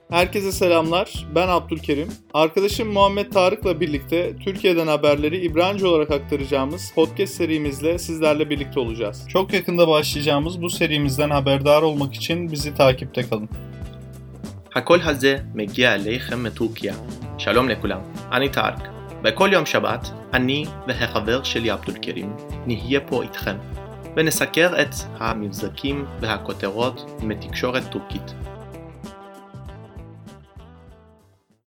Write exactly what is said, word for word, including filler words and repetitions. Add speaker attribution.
Speaker 1: Herkese selamlar. Ben Abdülkerim. Arkadaşım Muhammed Tarık'la birlikte Türkiye'den haberleri İbranice olarak aktaracağımız podcast serimizle sizlerle birlikte olacağız. Çok yakında başlayacağımız bu serimizden haberdar olmak için bizi takipte kalın.
Speaker 2: הקול הזה מגיע אליכם מטורקיה. שלום לכולם, אני טארק. בכל יום שבת, אני והחבר שלי עבדולקרים נהיה פה איתכם, ונסקר את המבזקים והכותרות מתקשורת טורקית.